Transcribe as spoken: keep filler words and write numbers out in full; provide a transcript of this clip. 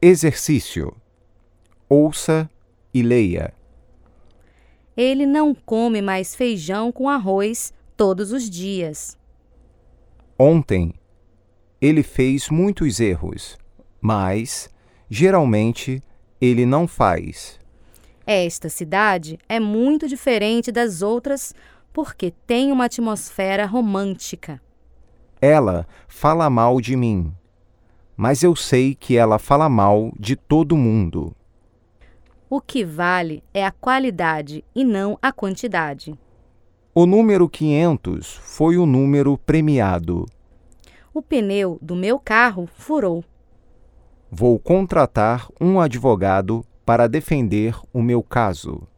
Exercício. Ouça e leia. Ele não come mais feijão com arroz todos os dias. Ontem, ele fez muitos erros, mas, geralmente, ele não faz. Esta cidade é muito diferente das outras porque tem uma atmosfera romântica. Ela fala mal de mim, mas eu sei que ela fala mal de todo mundo. O que vale é a qualidade e não a quantidade. O número quinhentos foi o número premiado. O pneu do meu carro furou. Vou contratar um advogado para defender o meu caso.